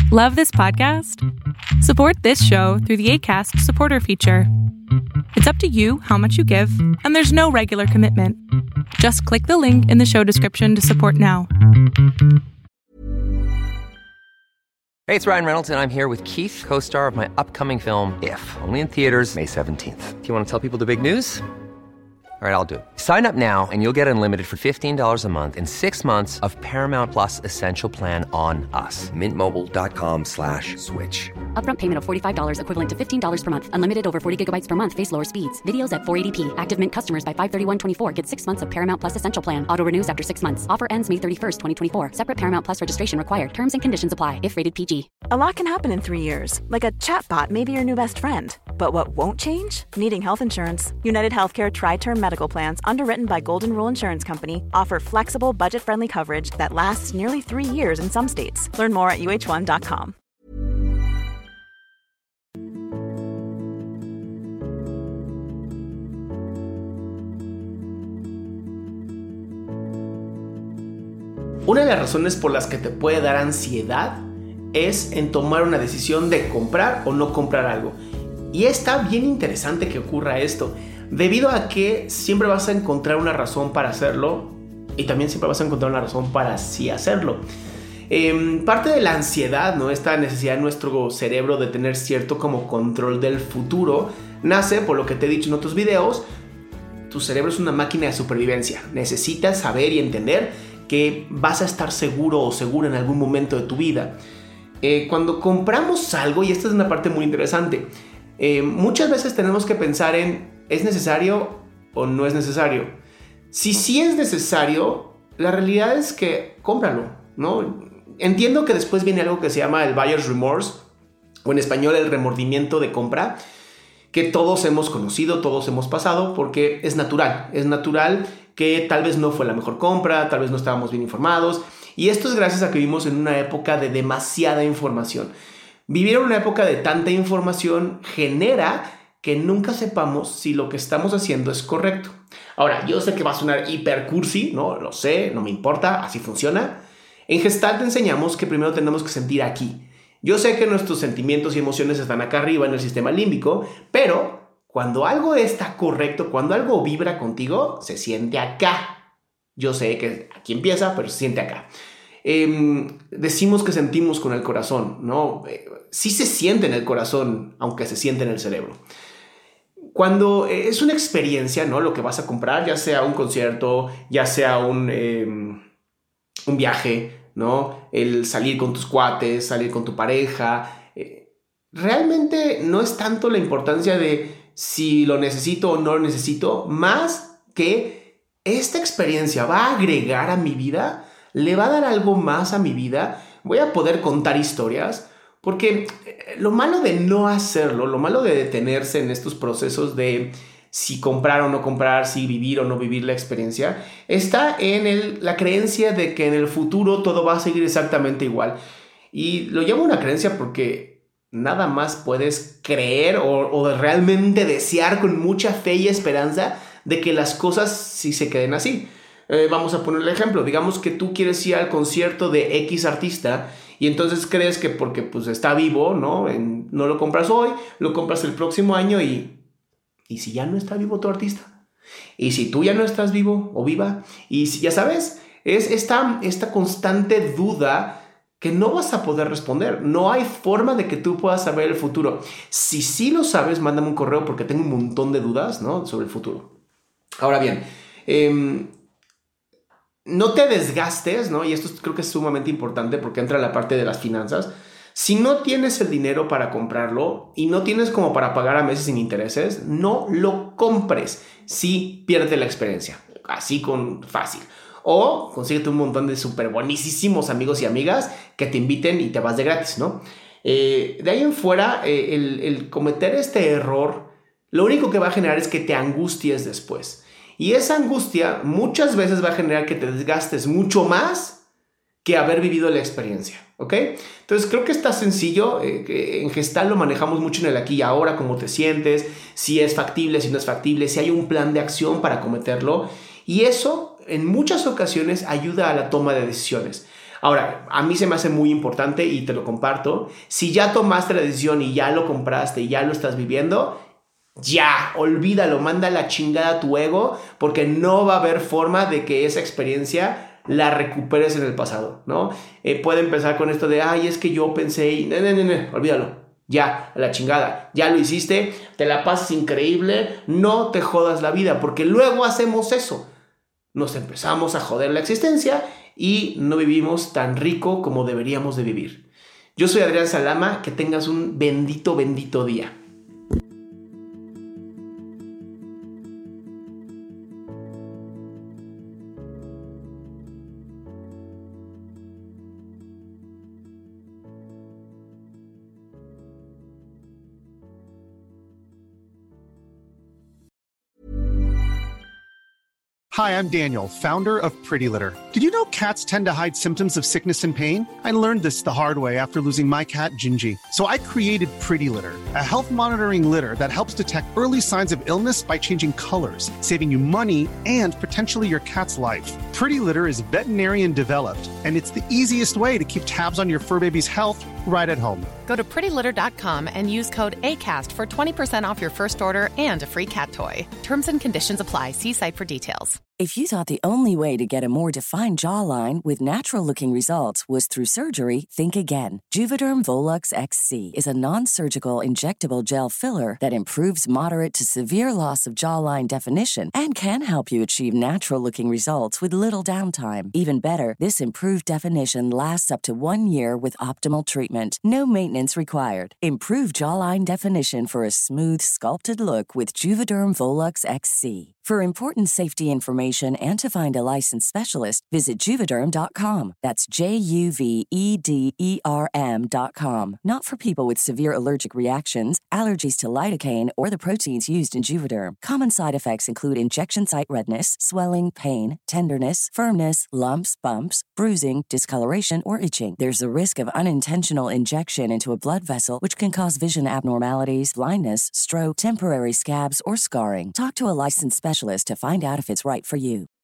Love this podcast? Support this show through the Acast supporter feature. It's up to you how much you give, and there's no regular commitment. Just click the link in the show description to support now. Hey, it's Ryan Reynolds, and I'm here with Keith, co-star of my upcoming film, If, only in theaters May 17th. Do you want to tell people the big news? All right, I'll do it. Sign up now and you'll get unlimited for $15 a month and 6 months of Paramount Plus Essential Plan on us. MintMobile.com/switch. Upfront payment of $45 equivalent to $15 per month. Unlimited over 40 gigabytes per month. Face lower speeds. Videos at 480p. Active Mint customers by 531.24 get 6 months of Paramount Plus Essential Plan. Auto renews after 6 months. Offer ends May 31st, 2024. Separate Paramount Plus registration required. Terms and conditions apply if rated PG. A lot can happen in 3 years. Like a chatbot may be your new best friend. But what won't change? Needing health insurance. United Healthcare Tri-Term Medical Plans, underwritten by Golden Rule Insurance Company, offer flexible, budget-friendly coverage that lasts nearly 3 years in some states. Learn more at uh1.com. Una de las razones por las que te puede dar ansiedad es en tomar una decisión de comprar o no comprar algo. Y está bien interesante que ocurra esto, debido a que siempre vas a encontrar una razón para hacerlo y también siempre vas a encontrar una razón para sí hacerlo. Parte de la ansiedad, ¿no? Esta necesidad de nuestro cerebro de tener cierto como control del futuro, nace por lo que te he dicho en otros videos. Tu cerebro es una máquina de supervivencia. Necesitas saber y entender que vas a estar seguro o segura en algún momento de tu vida. Cuando compramos algo, y esta es una parte muy interesante, muchas veces tenemos que pensar en ¿es necesario o no es necesario? Si sí es necesario, la realidad es que cómpralo, ¿no? Entiendo que después viene algo que se llama el buyer's remorse, o en español el remordimiento de compra, que todos hemos conocido, todos hemos pasado, porque es natural. Es natural que tal vez no fue la mejor compra, tal vez no estábamos bien informados, y esto es gracias a que vivimos en una época de demasiada información. Vivir en una época de tanta información genera que nunca sepamos si lo que estamos haciendo es correcto. Ahora, yo sé que va a sonar hiper cursi, ¿no? Lo sé, no me importa, así funciona. En Gestalt te enseñamos que primero tenemos que sentir aquí. Yo sé que nuestros sentimientos y emociones están acá arriba en el sistema límbico, pero cuando algo está correcto, cuando algo vibra contigo, se siente acá. Yo sé que aquí empieza, pero se siente acá. Decimos que sentimos con el corazón, ¿no? Sí se siente en el corazón, aunque se siente en el cerebro. Cuando es una experiencia, ¿no? Lo que vas a comprar, ya sea un concierto, ya sea un viaje, ¿no? El salir con tus cuates, salir con tu pareja. Realmente no es tanto la importancia de si lo necesito o no lo necesito, más que esta experiencia va a agregar a mi vida, le va a dar algo más a mi vida, voy a poder contar historias, porque lo malo de no hacerlo, lo malo de detenerse en estos procesos de si comprar o no comprar, si vivir o no vivir la experiencia, está en la creencia de que en el futuro todo va a seguir exactamente igual. Y lo llamo una creencia porque nada más puedes creer o realmente desear con mucha fe y esperanza de que las cosas sí se queden así. Vamos a poner el ejemplo. Digamos que tú quieres ir al concierto de X artista y entonces crees que porque pues, está vivo, ¿no? No lo compras hoy, lo compras el próximo año y si ya no está vivo tu artista, y si tú ya no estás vivo o viva, y si ya sabes, es esta constante duda que no vas a poder responder. No hay forma de que tú puedas saber el futuro. Si sí lo sabes, mándame un correo porque tengo un montón de dudas, ¿no? Sobre el futuro. Ahora bien, no te desgastes, ¿no? Y esto creo que es sumamente importante porque entra la parte de las finanzas. Si no tienes el dinero para comprarlo y no tienes como para pagar a meses sin intereses, no lo compres. Sí, pierde la experiencia. Así con fácil. O consíguete un montón de súper buenísimos amigos y amigas que te inviten y te vas de gratis, ¿no? De ahí en fuera, el cometer este error, lo único que va a generar es que te angusties después. Y esa angustia muchas veces va a generar que te desgastes mucho más que haber vivido la experiencia, ¿ok? Entonces creo que está sencillo. En Gestalt lo manejamos mucho en el aquí y ahora, cómo te sientes, si es factible, si no es factible, si hay un plan de acción para cometerlo. Y eso en muchas ocasiones ayuda a la toma de decisiones. Ahora, a mí se me hace muy importante y te lo comparto. Si ya tomaste la decisión y ya lo compraste y ya lo estás viviendo, ya, olvídalo, manda la chingada a tu ego, porque no va a haber forma de que esa experiencia la recuperes en el pasado, ¿no? Puede empezar con esto de, ay, es que yo pensé y... No, olvídalo. Ya, a la chingada, ya lo hiciste, te la pasas increíble, no te jodas la vida, porque luego hacemos eso. Nos empezamos a joder la existencia y no vivimos tan rico como deberíamos de vivir. Yo soy Adrián Salama, que tengas un bendito día. Hi, I'm Daniel, founder of Pretty Litter. Did you know cats tend to hide symptoms of sickness and pain? I learned this the hard way after losing my cat, Gingy. So I created Pretty Litter, a health monitoring litter that helps detect early signs of illness by changing colors, saving you money and potentially your cat's life. Pretty Litter is veterinarian developed, and it's the easiest way to keep tabs on your fur baby's health right at home. Go to prettylitter.com and use code ACAST for 20% off your first order and a free cat toy. Terms and conditions apply. See site for details. If you thought the only way to get a more defined jawline with natural-looking results was through surgery, think again. Juvederm Volux XC is a non-surgical injectable gel filler that improves moderate to severe loss of jawline definition and can help you achieve natural-looking results with little downtime. Even better, this improved definition lasts up to 1 year with optimal treatment. No maintenance required. Improve jawline definition for a smooth, sculpted look with Juvederm Volux XC. For important safety information and to find a licensed specialist, visit Juvederm.com. That's JUVEDERM.com. Not for people with severe allergic reactions, allergies to lidocaine, or the proteins used in Juvederm. Common side effects include injection site redness, swelling, pain, tenderness, firmness, lumps, bumps, bruising, discoloration, or itching. There's a risk of unintentional injection into a blood vessel, which can cause vision abnormalities, blindness, stroke, temporary scabs, or scarring. Talk to a licensed specialist to find out if it's right for you.